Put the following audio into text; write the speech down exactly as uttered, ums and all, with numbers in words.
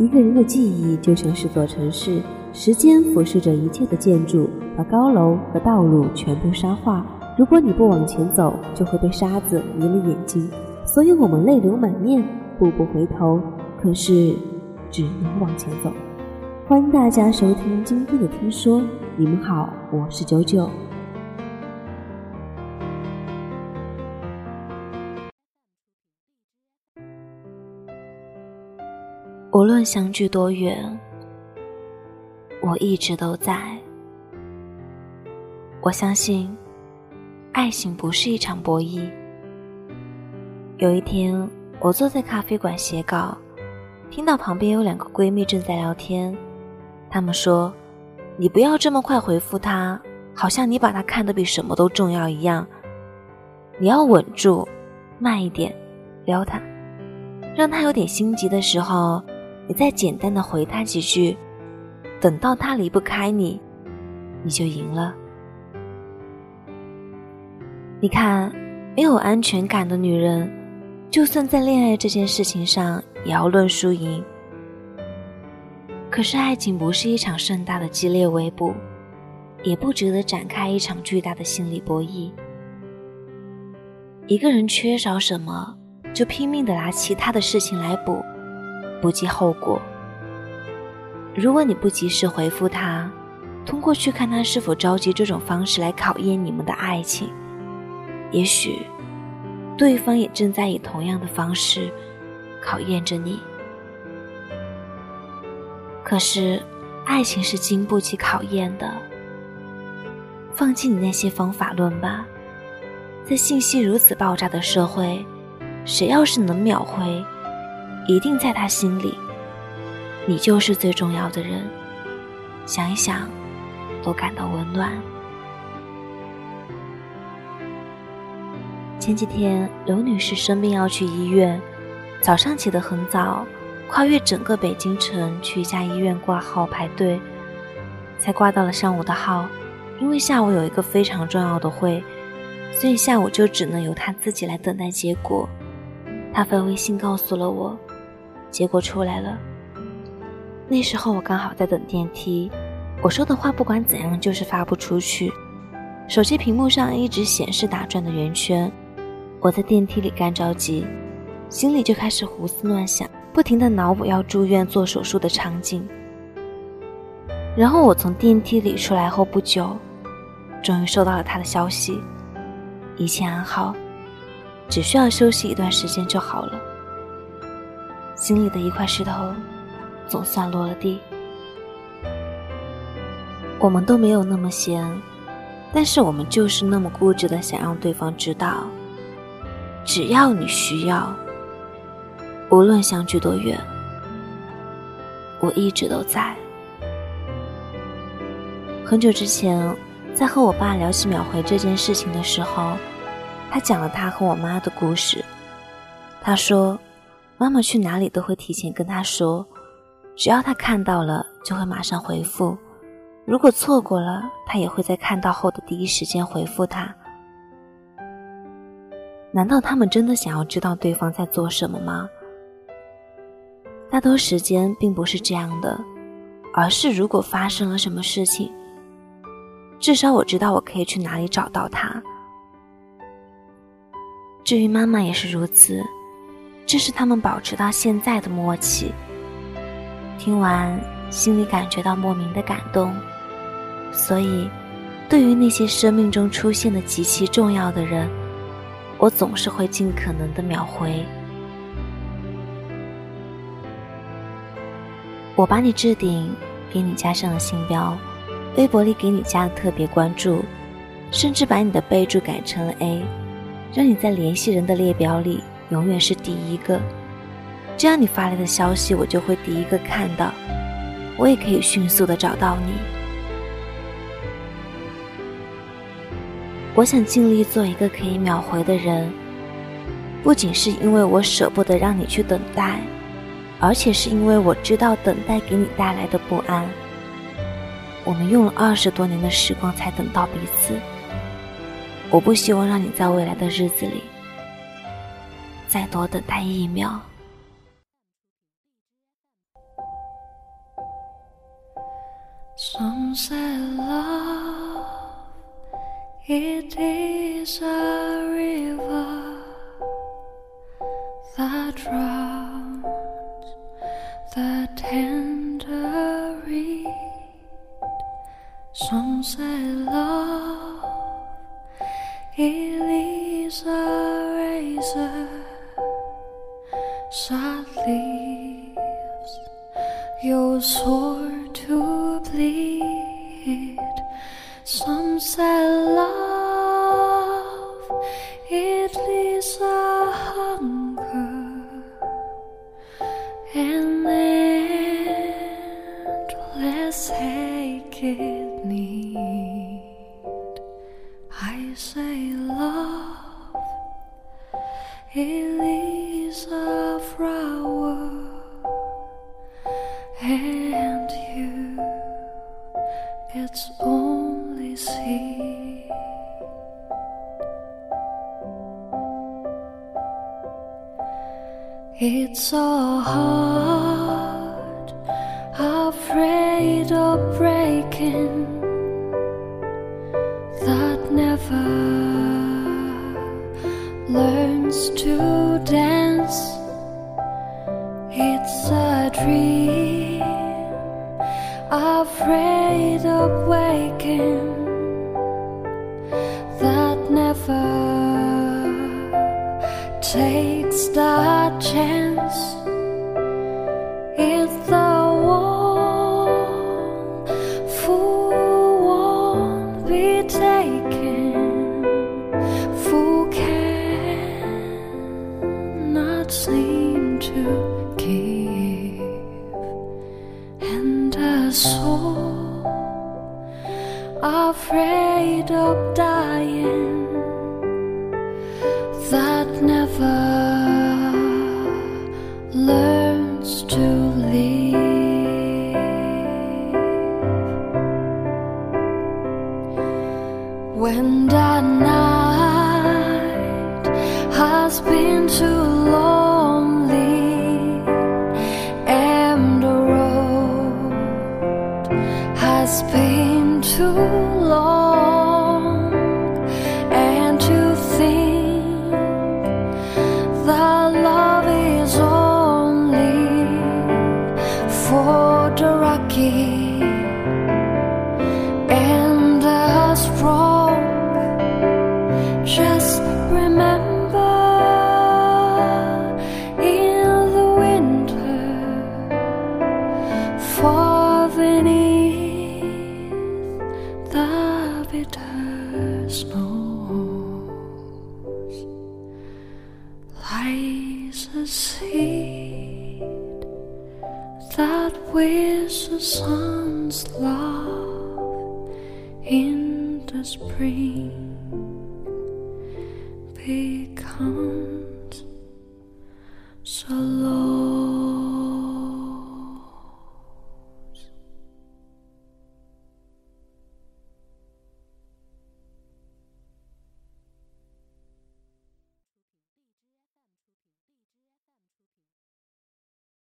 一个人的记忆就像是座城市，时间俯视着一切的建筑，把高楼和道路全部沙化。如果你不往前走，就会被沙子迷了眼睛。所以我们泪流满面，步步回头，可是只能往前走。欢迎大家收听今天的听说，你们好，我是九九。 无论相距多远，我一直都在。我相信爱情不是一场博弈。有一天，我坐在咖啡馆写稿，听到旁边有两个闺蜜正在聊天。她们说，你不要这么快回复她，好像你把她看得比什么都重要一样。你要稳住，慢一点撩她，让她有点心急的时候，你再简单的回她几句，等到她离不开你，你就赢了。你看，没有安全感的女人，就算在恋爱这件事情上也要论输赢。可是爱情不是一场盛大的激烈围捕，也不值得展开一场巨大的心理博弈。一个人缺少什么，就拼命地拿其他的事情来补，不计后果。如果你不及时回复他，通过去看他是否着急这种方式来考验你们的爱情，也许对方也正在以同样的方式考验着你。可是爱情是经不起考验的，放弃你那些方法论吧。在信息如此爆炸的社会，谁要是能秒回，一定在他心里你就是最重要的人，想一想都感到温暖。前几天刘女士生病要去医院，早上起得很早，跨越整个北京城去一家医院挂号排队，才挂到了上午的号。因为下午有一个非常重要的会，所以下午就只能由她自己来等待结果。她发微信告诉了我，结果出来了。那时候我刚好在等电梯，我说的话不管怎样就是发不出去，手机屏幕上一直显示打转的圆圈。我在电梯里干着急，心里就开始胡思乱想，不停地脑补要住院做手术的场景。然后我从电梯里出来后不久，终于收到了他的消息，一切安好，只需要休息一段时间就好了。心里的一块石头总算落了地。我们都没有那么闲，但是我们就是那么固执地想让对方知道，只要你需要，无论相距多远，我一直都在。很久之前，在和我爸聊起秒回这件事情的时候，他讲了他和我妈的故事。他说，妈妈去哪里都会提前跟他说，只要他看到了就会马上回复，如果错过了，他也会在看到后的第一时间回复他。难道他们真的想要知道对方在做什么吗？大多时间并不是这样的，而是如果发生了什么事情，至少我知道我可以去哪里找到他。至于妈妈也是如此，这是他们保持到现在的默契。听完，心里感觉到莫名的感动。所以，对于那些生命中出现的极其重要的人，我总是会尽可能的秒回。我把你置顶，给你加上了星标，微博里给你加了特别关注，甚至把你的备注改成了 A， 让你在联系人的列表里永远是第一个。这样你发来的消息我就会第一个看到，我也可以迅速的找到你。我想尽力做一个可以秒回的人，不仅是因为我舍不得让你去等待，而且是因为我知道等待给你带来的不安。我们用了二十多年的时光才等到彼此，我不希望让你在未来的日子里再多等待一秒。 Some say love, it is a river that drowns the tender reed. Some say love, it is a razor that leaves your sore to bleed. Some say love, it leaves a hunger and endless aching need. I say love, it leaves a flower and you, it's only seed. It's so hard, afraid of breaking, that never learns to dance. It's a dream, afraid of waking, that never takes the chance. It's the one who won't be taken, who cannot seem to give, and a soul afraid of dying, that never learns to live. When the night has been too lonely and the road has been too long, and to think that love is only for the lucky and the strong, just remember in the winter, far beneath the bitter snows, lies a seed that with the sun's love in the spring becomes so low.